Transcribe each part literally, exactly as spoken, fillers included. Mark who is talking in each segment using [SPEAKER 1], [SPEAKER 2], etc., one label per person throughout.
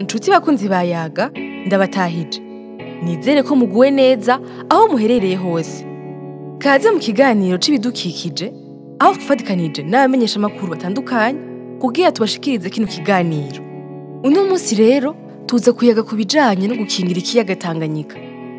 [SPEAKER 1] Nshuti bakunzi bayaga ndabatahije. Nizere ko muguwe neza aho muherereye hose. Kaze mu kiganiro c'ibidukikije aho twafatikanije n'abamenyesha makuru batandukanye kugira tubashikirize kino kiganiro. Uno munsi rero tuza kuyaga ku bijanye no gukingira ikiyaga Tanganyika.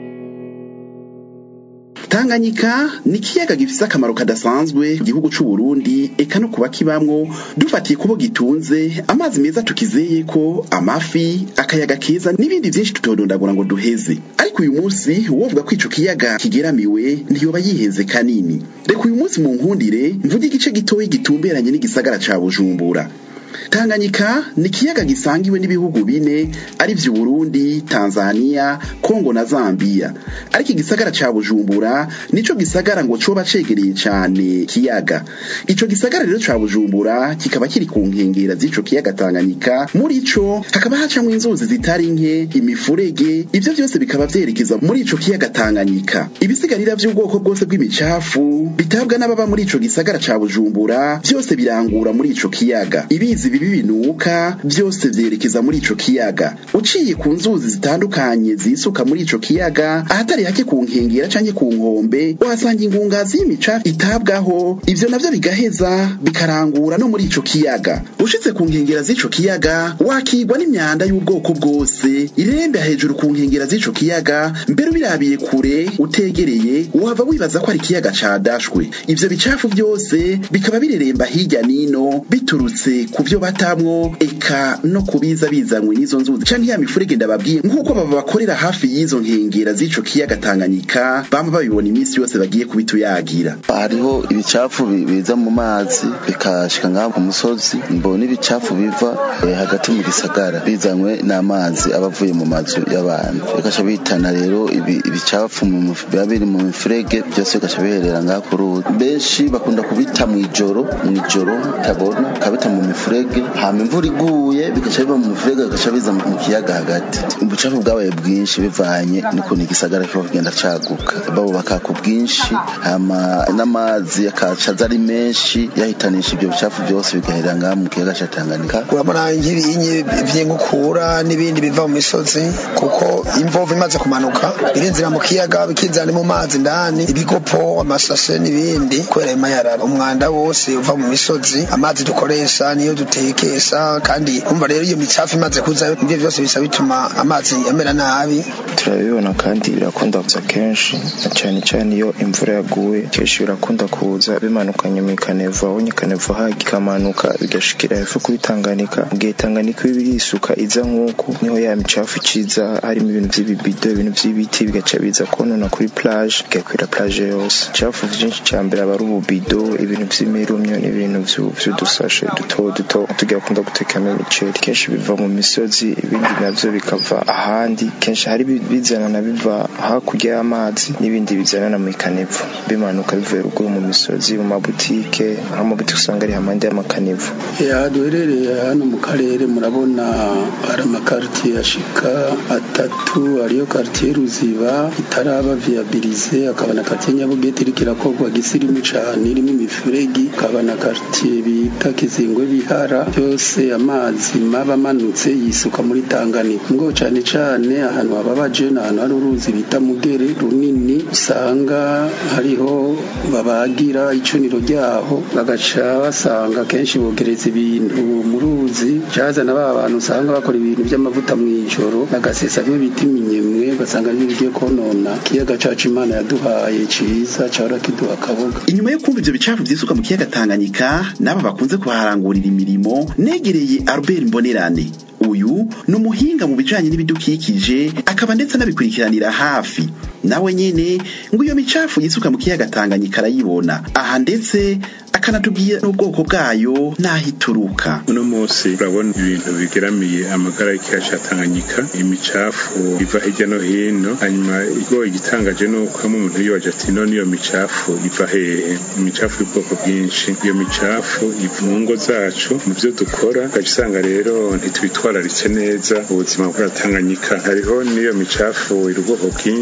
[SPEAKER 2] Tanganyika ni ikiyaga gifise akamaro kadasanzwe ku gihugu c'u Burundi eka no kuba kibamwo dufatiye kubo gitunze amazi meza tukizeye ko amafi akayaga keza n'ibindi vyinshi tutodondagura ngo duheze. Ariko uyu munsi wovuga ko ico kiyaga kigeramiwe ntiyoba yihenze kanini. Reka uyu munsi mu nkundire mvuge igice gitoyi gitumberanye n'igisagara ca Bujumbura. Tanganyika ni ikiyaga gisangiwe n'ibihugu bine ari vyo Burundi, Tanzania, Kongo na Zambia. Ariko igisagara ca Bujumbura nico gisagara ngo coba cegereye cane kiyaga. Ico gisagara rero ca Bujumbura kikaba kiri ku nkengera z'ico kiyaga Tanganyika, muri co hakaba hacamwo inzuzi zitari nke, imifurege, ivyo vyose bikaba vyerekeza muri ico kiyaga Tanganyika. Ibisigarira vy'ubwoko bwose bw'imicafu bitabwa n'ababa muri ico gisagara ca Bujumbura vyose birangura muri ico kiyaga. Ibizi bibi binuka byose vyerekeza muri ico kiyaga. Uciye ku nzuzi zitandukanye zisuka muri ico kiyaga, ahatari hake ku nkengera canke ku nkombe uhasanga ingungazi y'imicafu itabwaho, ivyo navyo bigaheza bikarangura no muri ico kiyaga. Ushitse ku nkengera z'ico kiyaga wakigwa n'imyanda y'ubwoko bwose irembe hejuru ku nkengera z'ico kiyaga, mbere birabiye kure utegereye wava wibaza ko ari ikiyaga cadashwe. Ivyo bicafu byose bikaba bireremba hirya nino biturutse ku vyo batamwo eka no kubiza bizanywe n'izo nzuzi canke ya mifurege ndababwiye, nk'uko baba bakorera hafi y'izo nkengera z'ico kiyaga Tanganyika bamba babibona iminsi yose bagiye kubituyagira.
[SPEAKER 3] Hariho ibicafu biza mu mazi bikashika ngaho ku musozi, mbona ibicafu biva eh, hagati mu gisagara bizanywe n'amazi abavuye mu mazu y'abantu, bikasha bitana rero ibi, ibicafu mu biri mu mifurege byose bikasha biherera ngaho ku ruzi. Benshi bakunda kubita mu ijoro mu ijoro tabona kabita mu mifurege, hama imvura iguye bigaca biva mu mifurege bigaca biza mu kiyaga hagati. Ubucafu bwabaye bwinshi bivanye niko n'igisagara cyo kugenda caguka, babo bakaka bwinshi, hama n'amazi akaca ari menshi yahitanisha ibyo bicafu byose bigaherera ngaho mu kiyaga ca Tanganyika.
[SPEAKER 4] Urabona nk'ibinyi vy'inkukura n'ibindi biva mu misozi, kuko imvovu imaze kumanuka birinzira mu kiyaga bikizana mu mazi ndani, ibigopo, amasase n'ibindi kubera imayarara. Umwanda wose uva mu misozi, amazi dukoresha niyo dutekesha, kandi umva rero iyo micafu imaze kuza ibyo byose bisa bituma amazi amera nabi.
[SPEAKER 5] Turabibona kandi birakunda kuza kenshi, cyane cyane iyo imvura yaguye kenshi birakunda kuza bimanukanye mu Kanevu, aho Kanevu hagikamanuka bigashikira hepfo kuri Tanganyika. Mugihe Tanganyika birisuka iza nk'uko niho ya micafu ciza, harimo ibintu vy'ibibido, ibintu vy'ibiti bigaca biza konona kuri plage, bigakwira plage yose. Micafu vyinshi cyambere aba ari ububido, ibintu vy'imirumyo n'ibintu vy'udusashe duto duto tugakunda gutekamo imiceri, kenshi biva mu misozi, ibindi navyo bikava ahandi. Kenshi hari bizana na biva hakurya y'amazi n'ibindi bizana mu Kanevu bimanuka bivuye ruguru mu misozi, mu mabutike, aho mu butike usanga ari hamande y'amakanevu.
[SPEAKER 6] Ya duherereye hano mu karere murabona ari amakartier ashika atatu, ariyo quartier Ruziba itaraba viabilize, akaba na quartier Nyabugete iriko irakorwa gisirimu cane irimo imifuregi, akaba na quartier bita Kizingwe Bihara, byose amazi maba manutse yisuka muri Tanganyika. Ngo cane cane ahantu ababaje n'ahantu hari uruzi bita Mugere runini, usanga hariho babagira icuniro ryaho bagaca basanga kenshi bogereza ibintu mu ruzi, cyazana ba bantu usanga bakora ibintu by'amavuta mu ijoro bagasesa byo biti minyemwe, basanga ari bigiye konona kiyaga cacu Imana yaduhaye ciza cyara kiduha kaboga.
[SPEAKER 2] Inyuma yo kumva ivyo bicafu vyisuka mu kiyaga Tanganyika, naba bakunze kuharangurira imirimo, negereye Albert Mbonerane. Uyu ni umuhinga mu bijanye n'ibidukikije, akaba ndetse nabikurikiranira hafi. Nawe nyene ngo iyo micafu yisuka mu kiyaga Tanganyika arayibona aha, ndetse akanatubwira n'ubwoko bwayo n'ahituruka.
[SPEAKER 7] Uno munsi urabona ibintu bigeramiye amagara y'ikiyaga ca Tanganyika, imicafu iva hirya no hino. Hanyuma igo igitangaje nuko umuntu yibaje ati none iyo micafu iva hehe? Imicafu y'ubwoko bwinshi. Iyo micafu iva mu ngo zacu, mu byo dukora, ugasanga rero ntitwitwararitse neza ubuzima bwa Tanganyika. Hariho niyo micafu iri ubwoko bwinshi,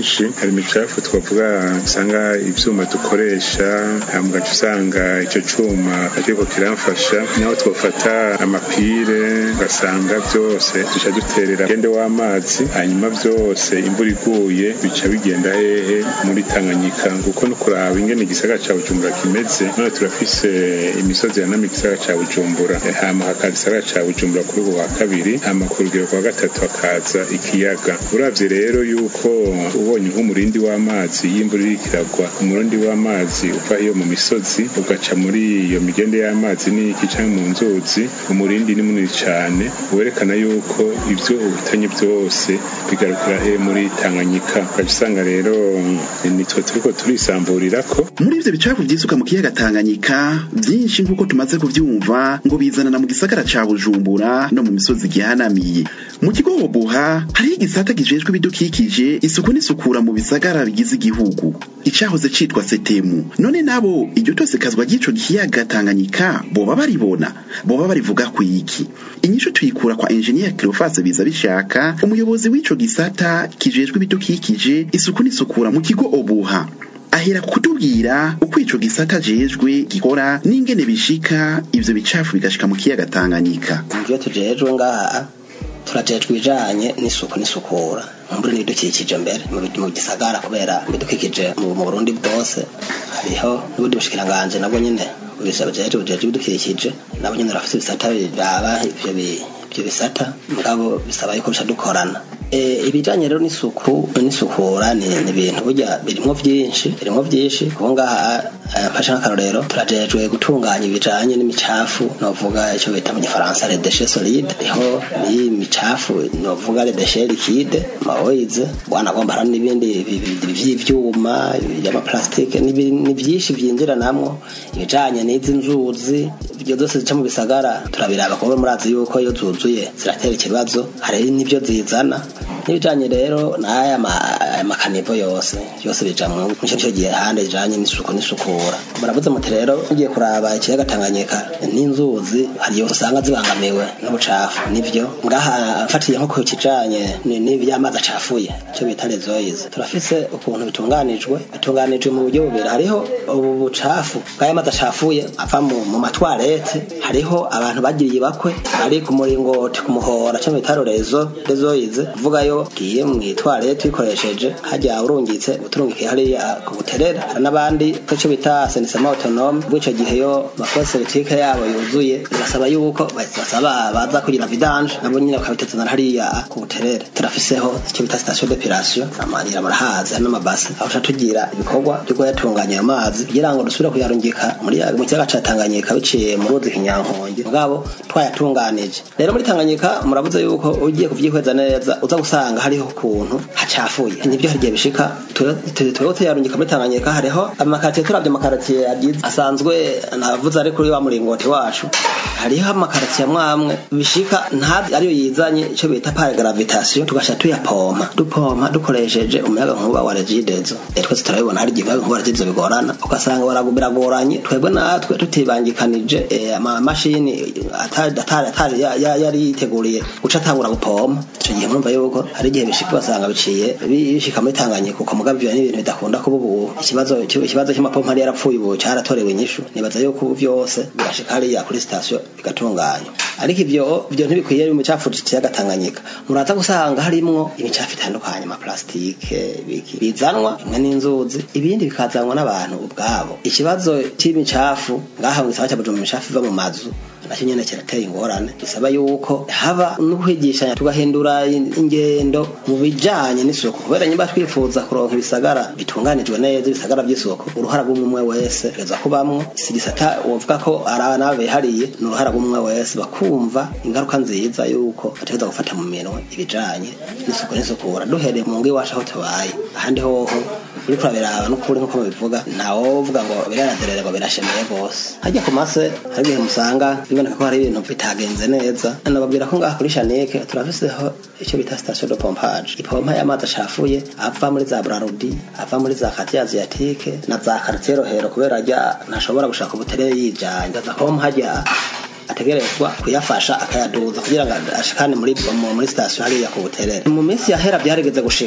[SPEAKER 7] hari imicafu twavuga usanga ivyuma dukoresha hambwa usanga ico cuma ariko kiramfasha naho twofata amapire ugasanga byose duca duterera gende w'amazi hanyuma byose imvura iguye bica bigenda hehe muri Tanganyika kuko no kuraba ingene igisagara ca Bujumbura kimeze none turafise imisozi yanamye igisagara ca Bujumbura hama hakaza igisagara ca Bujumbura kuri ubu wa kabiri hama ku rugero rwa gatatu hakaza ikiyaga uravye rero yuko ubonye nk'umurindi w'amazi y'imvura irikiragwa umurindi w'amazi uva iyo mu misozi ugaca muri iyo migende y'amazi n'iki canke mu nzuzi umurindi ni munini cane werekana yuko ivyo ubitanye byose bigarukira he muri Tanganyika ukabisanga rero nitwe turiko turisamburirako
[SPEAKER 2] muri ivyo bicafu vyisuka mu kiyaga Tanganyika vyinshi nk'uko tumaze kuvyumva ngo bizanana mu gisagara ca Bujumbura no mu misozi gihanamiye mu kigo Obuha hari igisata gijejwe ibidukikije isuku n'isukura mu bisagara bigize igihugu icahoze citwa Setemu none nabo iryo tose kazwa gico kiyaga Tanganyika boba baribona boba barivuga ku iki inyisho tuyikura kwa engineer Cleophas biza bishaka umuyobozi w'ico gisata kijejwe ibidukikije isuku n'isukura mu kigo Obuha ahera kutubwira uko ico gisata jejwe gikora n'ingene bishika ivyo bicafu bigashika mu kiyaga Tanganyika
[SPEAKER 8] ivyo tujejwe ngaha turajejwe bijanye n'isuku n'isukura muri n'ibidukikije mbere mu gisagara kubera ibidukikije mu Burundi bwose hariho n'ubundi bushikiranganje nabwo nyene ubisaba jejwe bujejwe ibidukikije nabo nyene rafise ibisata biraba ivyo ibyo bisata mugabo bisaba yuko dukorana eh ibijanye rero n'isuku n'isukura ni ibintu burya birimo byinshi birimo byinshi kubonga fasha n'akarorero turajejwe gutunganya ibijanye n'imicafu novuga ico bita mu gifaransa les déchets solides iho ni imicafu novuga les déchets liquides maoize bwana gomba hari n'ibindi by'ivyuma y'ama plastique ni byinshi byinjira namwo ibijanye n'izi nzuzi byo zose zica mu bisagara turabiraba ko murazi yuko iyo zuzuye ziratera ikibazo hari n'ibyo zizana n'ibijanye rero n'aya makanivo yose yose bija mu cyo gihe hande ijanye n'isuku n'isukura muravuze muti rero ugiye kuraba ikiyaga Tanganyika n'inzuzi hari yose usanga zibangamiwe n'ubucafu nivyo ngaha mfatiye nko ku kijanye n'ivyamazi acafuye cyo bita lezoize turafise ukuntu bitunganijwe bitunganijwe mu buryo bubiri hariho ubu bucafu bw'amazi acafuye ava mu matwarete hariho abantu bagiriye bakwe ari ku muringoti ku muhora cyo bita lezo lezoize vuga yo giye mu itwarete ikoresheje hajya urungitse uturungikiye hariya ku buterera hari n'abandi cyo bita assainissement autonome bw'ico gihe yo makosa politique yabo yuzuye birasaba yuko basaba baza kugira vidange nabo nyine bakabitezana hariya ku buterera turafiseho icyo bita station d'épilation amanira marahaza n'amabasi aho tugira ibikorwa byo yatunganya amazi kugira ngo dusubire kuyarungika muri mu kiyaga ca Tanganyika biciye mu ruzi Kinyankonge mugabo twayatunganije rero muri Tanganyika murabuze yuko ugiye kuvyihweza neza uza gusanga hariho kuntu hacafuye nibyo harigiye bishika turote yarungika muri Tanganyika hariho amakatiye turavye amakatiye yagize asanzwe navuze ari kuri wa muringoti wacu hariho amakatiye amwamwe bishika ntazi ariyo yizanye ico bita par gravitation tugasha tuyapompa dupompa dukoresheje umuyaga nkuba wa regidezo twese turabibona hari gihe nkuba regidezo bigorana ugasanga baragubira goranye twebwe natwe tutibangikanije ama machine atari atari yari yiteguriye guca tangura gupompa ico gihe murumva yuko hari gihe bishika basanga biciye bishika muri Tanganyika kuko mugavyo n'ibintu bidakunda kuba ubu ikibazo ikibazo cy'amapompa ari yarapfuye ubu cyaratorewe inyishu nibaza yuko ubu byose birashika ari ya kuri station bigatunganywa ariko ivyo byo ntibikwiye mu cyafu cy'ikiyaga Tanganyika muraza gusanga harimo imicafu itandukanye ama plastike bizanwa n'inzuzi ibindi bikazanwa n'abantu ubwabo ikibazo cy'imicafu ngaha mu gisagara cya Bujumbura imicafu iva mu mazu nacyo nyene kirateye ingorane bisaba yuko haba no kwigishanya tugahindura ingendo mu bijanye n'isuku kubera nyimba twifuza kuronka ibisagara bitunganijwe neza ibisagara by'isuku uruhara rw'umwe wese reza kubamwo sigisata uvuga ko arana behariye n'uruhara rw'umwe wese bakumva ingaruka nziza yuko bategeza gufata mu minwe ibijanye n'isuku n'isukura duhereye mu ngi washa ho tabaye ahandi hoho uri kurabiraba no kuri nko bivuga nawo uvuga ngo biranaderere ngo birashemeye gose hajya ku mase hari musanga biboneka ko hari ibintu bitagenze neza nababwira ko ngaha kuri Shanike turafiseho icyo bita station de pompage ipompa y'amazi acafuye ava muri za Brarudi ava muri za Quartier Asiatique na za Quartier Rohero kubera ajya ntashobora gushaka ubuterere yijanye ndaza ko hajya ategerezwa kuyafasha akayaduza kugira ngo ashikane muri muri station hariya ku buterere mu minsi yahera byarigeze gushika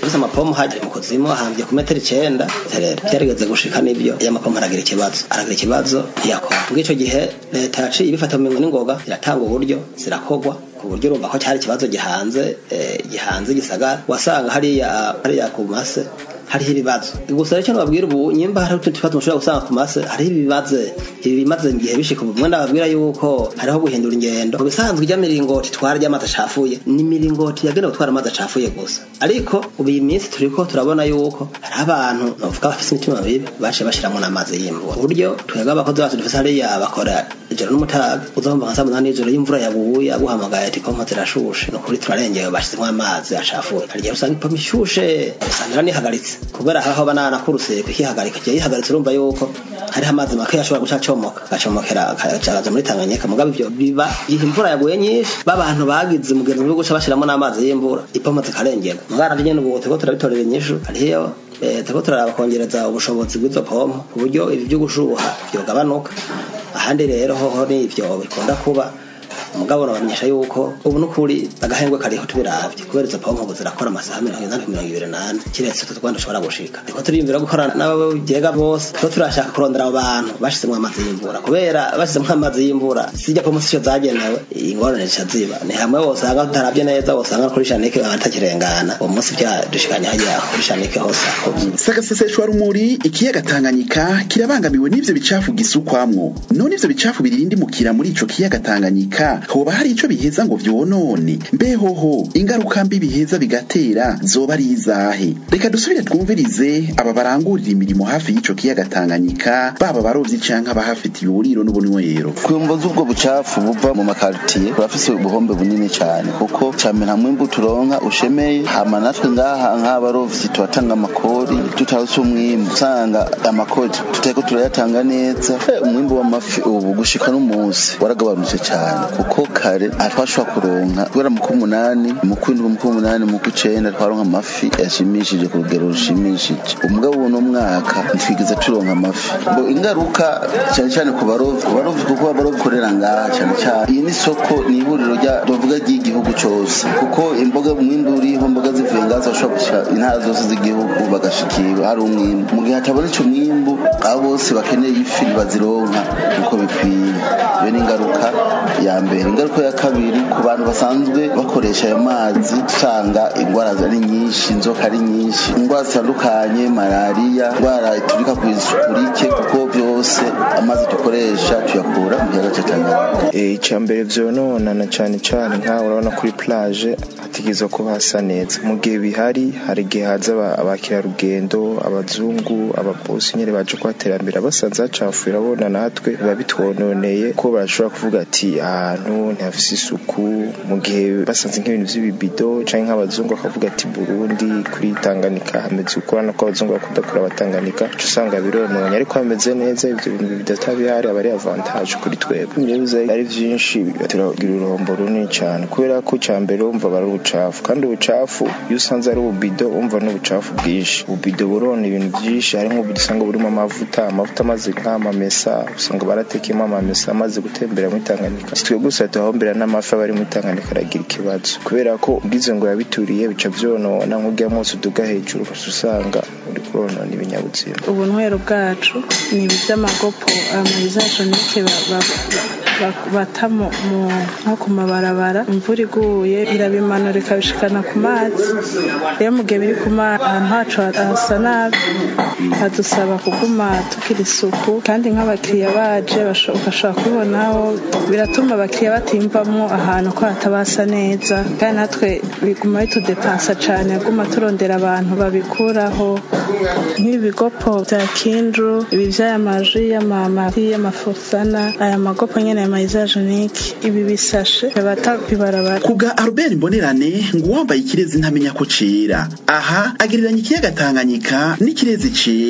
[SPEAKER 8] turafise amapomo haje mu kuzimu ahambye ku metero icenda rero byarigeze gushika n'ibyo y'amapomo aragira ikibazo aragira ikibazo yakora ng'ico gihe leta yaciye ibifata mu mingo n'ingoga iratanga uburyo zirakogwa ku buryo urumva ko cyari ikibazo gihanze gihanze gisagara wasanga hariya hariya ku mase hariho ibibazo gusa rero cyo nababwira ubu nyimba hari utundi tubazo mushobora gusanga ku mase hariho ibibazo ibi bimaze ngiye bishika ubu mwenda babwira yuko hariho guhindura ingendo mu bisanzwe ijya miringoti twara ry'amata acafuye ni miringoti yagenewe gutwara amata acafuye gusa ariko ubu iyi minsi turiko turabona yuko hari abantu bavuga bafise imitima mibi baje bashiramo n'amazi y'imvura uburyo twega abakozi bacu dufise hariya bakora ijoro n'umutaga uzomba nka saa munani y'ijoro y'imvura yaguye aguhamagaye ati ko mpotera shushe no kuri turarengewe bashizemo amazi acafuye hari igihe usanga ipoma ishushe usanga nihagaritse kubera aho banana kuruse kukihagarika giye yihagaritse urumva yuko hari amazi make yashobora gucacomoka gacomokera akacaza muri Tanganyika mugabe ibyo biba gihe imvura yaguye nyinshi babantu bagize umugenzi wo guca bashiramo n'amazi y'imvura ipoma zikarengera mugara nyene ubu teko turabitorera inyishu hariyo teko turabakongereza ubushobozi bw'izo pompo ku buryo ibi byo gushuha byogabanuka ahandi rero hoho ni ivyo bikunda kuba mugabo nabamenyesha yuko ubu nukuri agahengwe kariho tubiravye kubera izo pompo ubu zirakora amasaha mirongo ine na mirongo ibiri n'ane kiretse tutugwanda ushobora gushika niko turiyumvira gukorana n'abagega bose ko turashaka kurondera abo bantu bashizemwo amazi y'imvura kubera bashizemwo amazi y'imvura sijya pompo sico zagenewe ingorane ziba ni hamwe wose aga tutaravye neza wosanga kuri Shanike batakirengana uwo munsi bya dushikanya hajya kuri Shanike hose
[SPEAKER 2] sagaseseshwa rumuri ikiyaga Tanganyika kirabangamiwe n'ivyo bicafu gisukwamwo none ivyo bicafu birindi mukira muri ico kiyaga Tanganyika hoba hari ico biheza ngo vyonone mbehoho ingaruka mbi biheza bigatera zoba ari izahe reka dusubire twumvirize aba barangurira imirimo hafi y'ico kiyaga Tanganyika baba barovyi canke abahafitiye uburiro n'ubunywero
[SPEAKER 3] kuyumboza ubwo bucafu buva mu makartier turafise ubuhombe bunini cyane kuko camena mwimbu turonka ushemeye hama natwe ngaha nk'abarovyi turatanga amakori tutawuse umwimbu usanga amakori tuteko turayatanga neza umwimbu w'amafi ubu gushika n'umunsi waragabanutse cyane kuko kare afashwa kuronka kubera mu kumunani mu kwindwi mu kumunani mu kucenda twaronka amafi yashimishije ku rugero rushimishije umugabo uno mwaka ntwigeze turonka amafi ngo ingaruka cyane cyane ku barovyi barovyi kuko barovyi korera ngaha cyane cyane iyi ni soko ni ihuriro rya dovuga ry'igihugu cyose kuko imboga mwimbu uriho imboga zivuye ngaza bashobora gushika intara zose z'igihugu bagashikira hari umwimbu mu gihe hatabonetse umwimbu abo bose bakeneye ifi bazironka uko bikwiye iyo ni ingaruka ya mbere ingaruka ya kabiri ku bantu basanzwe bakoresha ayo mazi usanga ingwara ari nyinshi inzoka ari nyinshi ingwara zitandukanye malaria ingwara iturika ku isuku rike kuko byose amazi dukoresha tuyakura mu kiyaga cya Tanganyika
[SPEAKER 5] eh icyambere vyonona na cyane cyane nka urabona kuri plage hatigizwe ko hasa neza mu gihe bihari hari gihe haza abakira rugendo abazungu ababosi nyene baje kwaterambira basanze hacafuye urabona natwe biba bitwononeye ko barashobora kuvuga ati ahantu ntafise isuku mu gihe basanze nk'ibintu vy'ibibido canke nk'abazungu bakavuga ati Burundi kuri Tanganyika hameze ukorana ko abazungu bakunda kuri abatanganika cyo usanga birononye ariko hameze neza ivyo bintu bidatabihari abari avantage kuri twebwe nibuze ari vyinshi turagira urombo runini cyane kubera ko cyambere umva bari ubucafu kandi ubucafu iyo usanze ari ububido umva n'ubucafu bwinshi ububido burona ibintu byinshi hari nk'ububido usanga burimo amavuta amavuta amaze nk'amamesa usanga baratekemo amamesa amaze gutembera muri Tanganyika twe gusa tuhombera n'amafi bari muri Tanganyika aragira ikibazo kubera ko ugize ngo yabituriye bica vyonona nk'ugiye mwose uduga hejuru usanga uri konona ibinyabuzima
[SPEAKER 9] ubunwero bwacu ni iby'amagopo amayizajonike batamo nko ku mabarabara imvura iguye irabimanura ikabishikana ku mazi rero mu gihe biri ku mazi ahantu hacu hasa nabi hadusaba kuguma tugira isuku kandi nk'abakiriya baje ugashobora kubibonaho biratuma abakiriya batimvamwo ahantu ko hatabasa neza kandi natwe biguma bitudepansa cane guma turondera abantu babikuraho nk'ibigopo bya Kindru ibi vy'amaji y'amamari y'amafusana aya magopo nyene y'amayizajonike ibi bisashe bata bibarabara
[SPEAKER 2] kuga Albert Mbonerane ngo wambaye ikirezi ntamenya ko cera aha agereranya ikiyaga Tanganyika n'ikirezi cera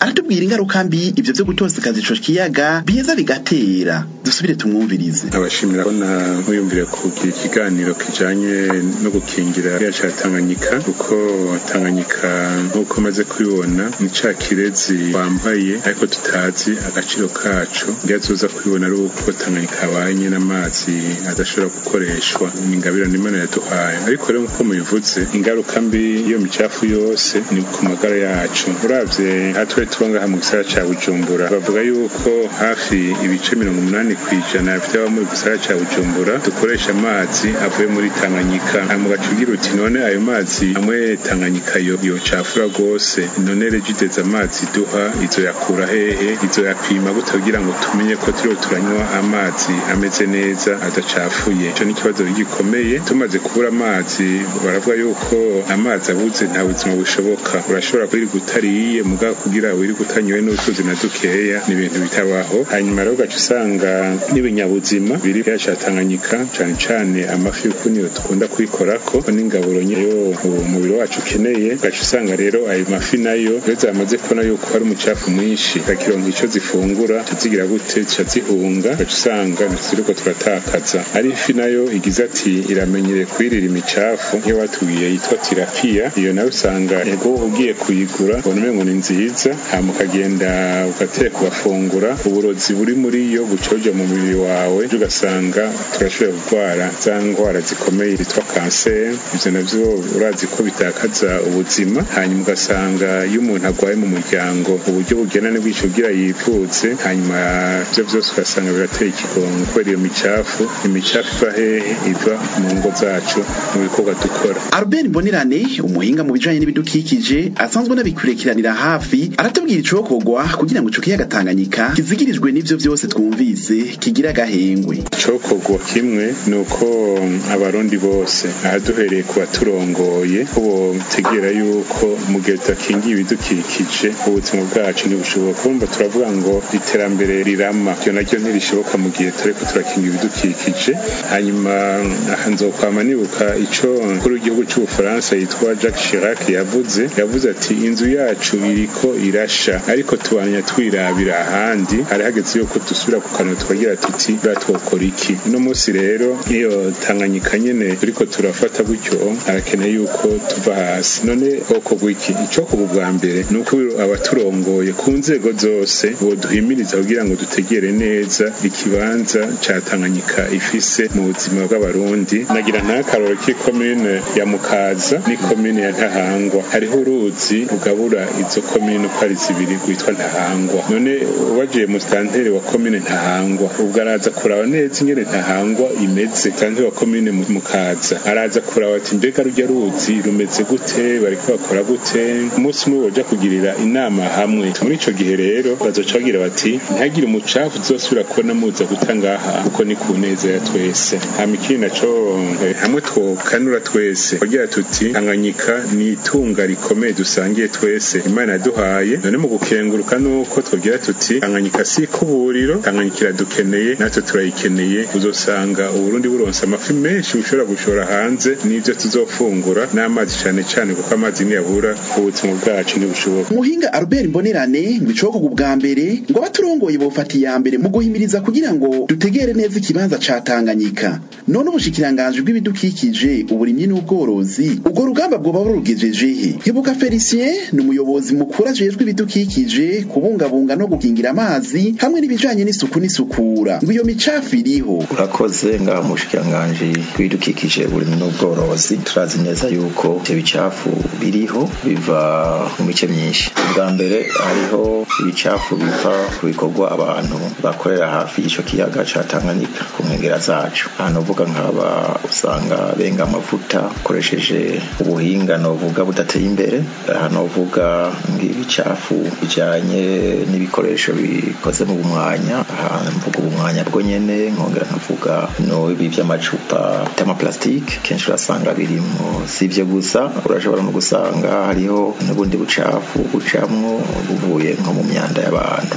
[SPEAKER 2] aratubwira ingaruka mbi ivyo vyo gutosekaza ico kiyaga biheza bigatera. Dusubire tumwumvirize.
[SPEAKER 7] Abashimira bona nkuyumvire kugira ikiganiro kijanye no gukingira ikiyaga ca Tanganyika, kuko Tanganyika nk'uko maze kubibona ni ca kirezi wambaye ariko tutazi agaciro kacu. Ngiyazoza kubibona ari uko Tanganyika habanye n'amazi adashobora gukoreshwa, ni ingabire n'Imana yaduhaye. Ariko rero nk'uko mubivuze, ingaruka mbi iyo micafu yose ni ku magara yacu. Uravye atwe tubanga mu gisagara ca Bujumbura, bavuga yuko hafi ibice mirongo umunani kw'ijana by'aba mu gisagara ca Bujumbura dukoresha amazi avuye muri Tanganyika. Hama ugacugira uti none ayo mazi amwe Tanganyika yo yocafura rwose, none regideza amazi duha izo yakura hehe, izo yapima gute kugira ngo tumenye ko turiho turanywa amazi ameze neza adacafuye. Ico ni ikibazo gikomeye. Tumaze kubura amazi, baravuga yuko amazi abuze nta buzima bushoboka. Urashobora kuri gutariye mugabo kugira wiri gutanyowe n'utuzi na dukeya ni ibintu bitabaho. Hanyuma rero gacu usanga n'ibinyabuzima biri bya Tanganyika, cyane cyane amafi uko niyo tukunda kuyikorako n'ingaburo nyeyo umubiri wacu ukeneye. Gacu usanga rero ayo mafi nayo reza amaze kubona yuko hari umucafu mwinshi, gakironka ico zifungura tuzigira gute zihunga. Gacu usanga ntiriko turatakaza. Ari ifi nayo igize ati iramenyere kwirira imicafu, iyo batubwiye yitwa tilapia, iyo nayo usanga ego ugiye kuyigura ubona ngo ni nziza, hama ukagenda ugateka kubafungura, uburozi buri muri yo bucoja mu mubiri wawe, ugasanga turashobora kurwara za ndwara zikomeye zitwa kanseri. Ivyo navyo urazi ko bitakaza ubuzima. Hanyuma ugasanga iyo umuntu agwaye mu muryango, uburyo bugena n'ibwico kugira yivuze, hanyuma ivyo vyose ugasanga birateye ikigongo kubera iyo micafu. Imicafu iva hehe? Iva mu ngo zacu, mu bikorwa dukora.
[SPEAKER 2] Albert Mbonirane, umuhinga mu bijanye n'ibidukikije asanzwe n'abikurikiranira hafi, aratubwira icokorwa kugira ngo ico kiyaga Tanganyika kizigirijwe n'ivyo vyose twumvise kigira agahengwe.
[SPEAKER 7] Icokorwa kimwe nuko abarundi bose ahaduhereye ku baturongoye ko botegera yuko mu gihe tudakingiye ibidukikije ubuzima bwacu ntibushoboka. Kumva turavuga ngo iterambere rirama, ivyo naryo ntirishoboka mu gihe turiko turakinga ibidukikije. Hanyuma aha nzokwama nibuka ico kuri igihugu c'Ubufaransa yitwa Jacques Chirac yavuze yavuze ati inzu yacu iriko irasha ariko tubanya twirabira ahandi. Hari hageze yuko dusubira ku kanwa tukagira tuti batwokora iki. Uno munsi rero iyo Tanganyika nyene turiko turafata gutyo, arakeneye yuko tuva hasi. None oko gwiki ico ku bwa mbere nuko abaturongoye ku nzego zose boduhimiriza kugira ngo dutegere neza ikibanza ca Tanganyika ifise mu buzima bw'abarundi. Nagira nta karoro ki commune ya Mukaza ni commune ya Ntahangwa, hariho uruzi rugabura izo commune uko ari zibiri rwitwa Ntahangwa. None ubagiye mu stantere wa commune Ntahangwa ubwo araza kuraba neza ingene Ntahangwa imeze, kandi wa commune Mukaza araza kuraba ati mbega rujya ruzi rumeze gute, bariko bakora gute. Umunsi umwe boja kugirira inama hamwe. Muri ico gihe rero bazoca bagira bati ntagire umucafu uzosubira kubona muza gutangaha, kuko ni ku neza ya twese. Hama ikindi naco hamwe twokanura twese bagira tuti Tanganyika ni itunga rikomeye dusangiye twese Imana yaduhaye. None mu gukenguruka nuko twogira tuti Tanganyika si kuburiro, Tanganyika iradukeneye natwe turayikeneye. Uzosanga Uburundi buronsa amafi menshi bushobora gushora hanze n'ivyo tuzofungura n'amazi cane cane, kuko amazi niyabura ubuzima bwacu ntibushoboka.
[SPEAKER 2] Umuhinga Albert Mbonirane ngo icokorwa ubwa mbere ngo abaturongoye bofata iya mbere mu guhimiriza kugira ngo dutegere neza ikibanza ca Tanganyika. None ubushikiranganje bw'ibidukikije, uburimyi n'ubworozi ubwo rugamba bwoba burugejeje he? Hibuka Felicien ni umuyobozi mukuru ajejwe ibidukikije, kubungabunga no gukingira amazi hamwe n'ibijanye n'isuku n'isukura. Ngo iyo micafu iriho.
[SPEAKER 10] Urakoze ngaha mushikiranganje bw'ibidukikije, uburimyi n'ubworozi. Turazi neza yuko ivyo bicafu biriho biva mu mice myinshi. Ubwa mbere hariho ibicafu biva ku bikorwa abantu bakorera hafi y'ico kiyaga ca Tanganyika ku nkengera zacu. Hano uvuga nk'aba usanga benga amavuta ukoresheje ubuhinga novuga budateye imbere. Hano uvuga ng'ibicafu bijanye n'ibikoresho bikoze mu bumwanya. Aha mvuga ubumwanya bwo nyene, nkongera nkavuga no ibi vy'amacupa y'amaplastike kenshi urasanga birimo. Sivyo gusa, urashobora no gusanga hariho n'ubundi bucafu bucamwo buvuye nko mu myanda y'abantu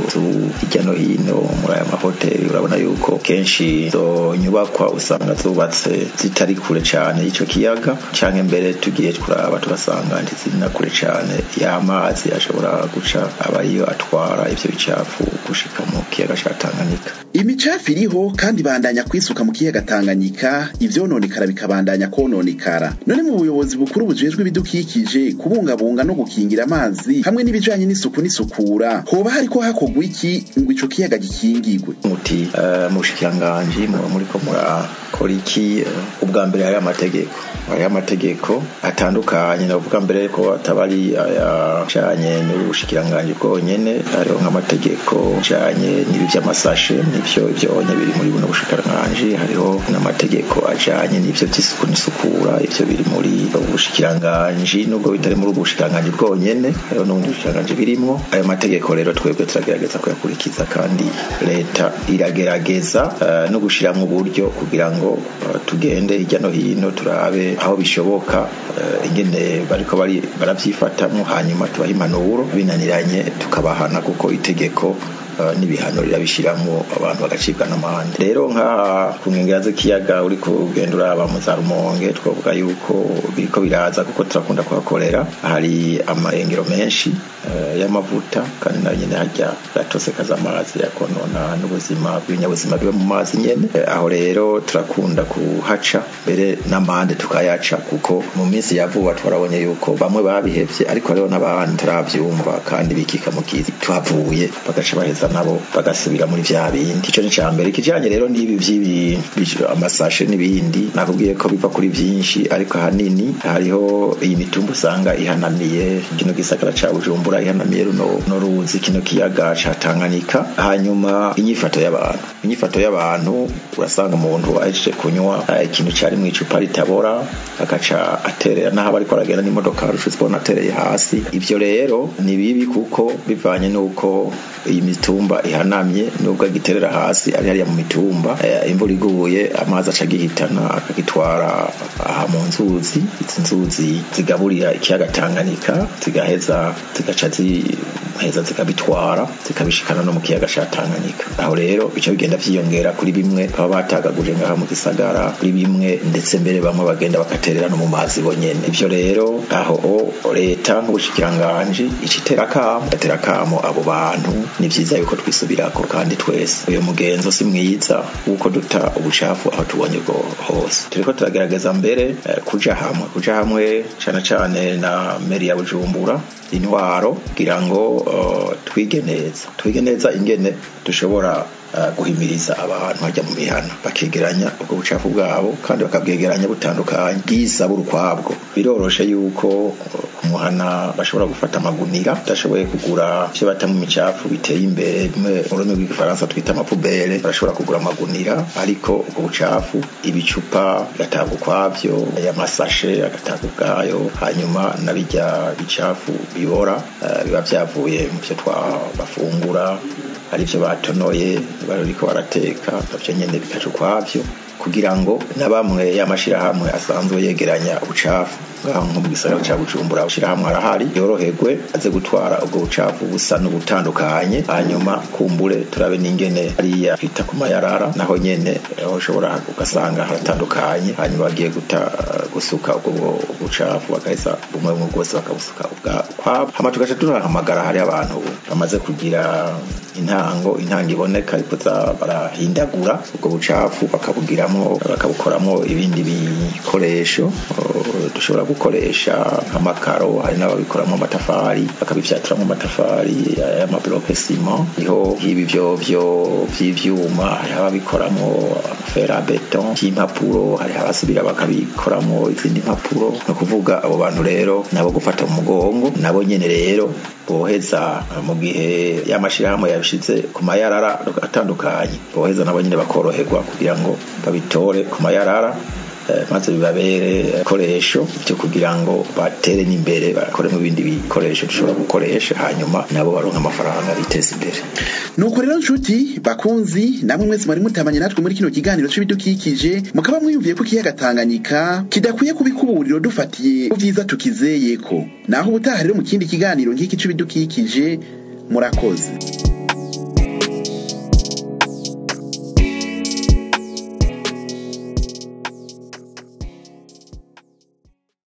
[SPEAKER 10] hirya no hino muri aya mahoteli. Urabona yuko kenshi izo nyubakwa usanga zubatse zitari kure cane y'ico kiyaga, canke mbere tugiye kuraba tugasanga ntiziri na kure cane y'amazi ashobora ashobora guca aba ariyo atwara ivyo bicafu gushika mu kiyaga ca Tanganyika.
[SPEAKER 2] Imicafu iriho kandi bandanya kwisuka mu kiyaga Tanganyika, ivyononekara bikabandanya kononekara. None mu buyobozi bukuru bujejwe ibidukikije kubungabunga no gukingira amazi hamwe n'ibijanye n'isuku n'isukura, hoba hariko hakogwa iki ngo ico kiyaga gikingirwe?
[SPEAKER 10] Muti uh, mushikiranganje muri ko murakora iki? Uh, ubwa mbere hari amategeko hari amategeko atandukanye, navuga mbere ko atabari ayacanye n'ubushikiranganje bwonyene, hariho nk'amategeko ajanye n'ibi vy'amasashe n'ivyo ivyonye biri muri buno bushikiranganje, hariho n'amategeko ajanye n'ivyo vy'isuku n'isukura, ivyo biri muri ubushikiranganje nubwo bitari muri ubushikiranganje bwonyene, hariho n'ubundi bushikiranganje birimwo. Ayo mategeko rero twebwe turagerageza kuyakurikiza kandi leta iragerageza uh, no gushiramwo uburyo kugira ngo uh, tugende hirya no hino turabe aho bishoboka uh, ingene bariko bari baravyifatamwo, hanyuma tubaha impanuro binaniranye tukabahana kuko itegeko Uh, n'ibihano rirabishiramwo abantu bagacibwa n'amande. Rero nka ku nkengera z'ikiyaga uri kugendura aba mu za Rumonge, twavuga yuko biriko biraza kuko turakunda kuhakorera, hari amarengero menshi uh, y'amavuta kandi nayo nyene harya gatosekaza amazi yakonona n'ubuzima bw'ibinyabuzima biba mu mazi nyene. Uh, aho rero turakunda kuhaca mbere n'amande tukayaca kuko mu minsi ya vuba twarabonye yuko bamwe babihevye, ariko rero n'abandi turavyumva kandi bikika mu kizi tuhavuye bagaca baheza nabo bagasubira muri vya bindi. Ico ni cambere. Kijanye rero n'ibi vy'ibi amasashe n'ibindi nakubwiye ko biva kuri vyinshi, ariko hanini hariho iyi mitumba usanga ihanamiye kino gisagara ca Bujumbura, ihanamiye runo no ruzi kino kiyaga ca Tanganyika. Hanyuma inyifato y'abantu inyifato y'abantu urasanga umuntu ahejeje kunywa ikintu cari mu icupa ritabora akaca aterera naho bariko aragenda n'imodoka rushize bona atereye hasi. Ivyo rero ni bibi kuko bivanye nuko iyi mitumba ihanamye, nubwo agiterera hasi ari hariya mu mitumba, e, imvura iguye amazi aca gihitana akagitwara aha mu nzuzi. Izi nzuzi zigaburira ikiyaga Tanganyika zigaheza zigaca ziheza zikabitwara zikabishikana no mu kiyaga ca Tanganyika. Aho rero bica bigenda vyiyongera kuri bimwe baba batagaguje ngaha mu gisagara, kuri bimwe ndetse mbere bamwe bagenda bakaterera no mu mazi bonyene. Ivyo rero aho leta nk'ubushikiranganje icitera kamo atera kamo abo bantu, ni vyiza yuko twisubirako kandi twese uyo mugenzo si mwiza uko duta ubucafu aho tubonye go hose. Turiko turagerageza mbere eh, kuja hamwe kuja hamwe cyane cyane na meri ya Bujumbura, intwaro kugira ngo uh, twige neza twige neza ingene dushobora Uh, guhimiriza abantu hajya mu mihana bakegeranya ubwo bucafu bwabo kandi bakabwegeranya butandukanye bwiza burukwabwo. Biroroshe yuko umuhana bashobora gufata amagunira, dashoboye kugura ivyo bata mu micafu biteye imbere bimwe mu rurimi rw'igifaransa twita amapubere, barashobora kugura amagunira, ariko ubwo bucafu ibicupa gatanga ukwavyo, y'amasashe agatanga ubwayo, hanyuma nabijya bicafu bibora uh, biba vyavuye mu byo twabafungura ari byo batonoye bariko barateka, navyo nyene bikaca ukwavyo kugira ngo na bamwe y'amashirahamwe asanzwe yegeranya ubucafu ngaho mu gisagara ca Bujumbura ushirahamwe arahari yoroherwe aze gutwara ubwo bucafu busa n'ubutandukanye. Hanyuma kumbure turabe n'ingene ariya kwita ku mayarara naho nyene ushobora ugasanga haratandukanye, hanyuma bagiye guta gusuka ubwo bucafu bagaheza bumwe mu bwose bakabusuka ubwabo. Hama tugaca turahamagara hari abantu bamaze kugira intango intango iboneka ikoza barahindagura ubwo bucafu bakabugiramwo bakabukoramo ibindi bikoresho dushobora gukoresha nk'amakaro, hari n'ababikoramo amatafari bakabifyaturamo amatafari y'amabloke sima, niho ibi byo byo vy'ivyuma, hari ababikoramo fera beton y'impapuro, hari abasubira bakabikoramo izindi mpapuro. No kuvuga abo bantu rero nabo gufata mu mugongo, nabo nyene rero boheza mu gihe y'amashirahamwe yabishize ku mayarara atandukanye, boheza nabo nyene bakoroherwa kugira ngo babitore ku mayarara maze bibabere koresho cyo kugira ngo batere n'imbere bakore mu bindi bikoresho dushobora gukoresha, hanyuma nabo baronka amafaranga biteza imbere.
[SPEAKER 2] Nuko rero nshuti bakunzi, namwe mwese mwari mutabanye natwe muri kino kiganiro c'ibidukikije, mukaba mwiyumviye ko ikiyaga Tanganyika kidakwiye kubikuburiro dufatiye uvyiza tukizeyeko. Naho ubutaha rero mu kindi kiganiro nk'iki c'ibidukikije, murakoze.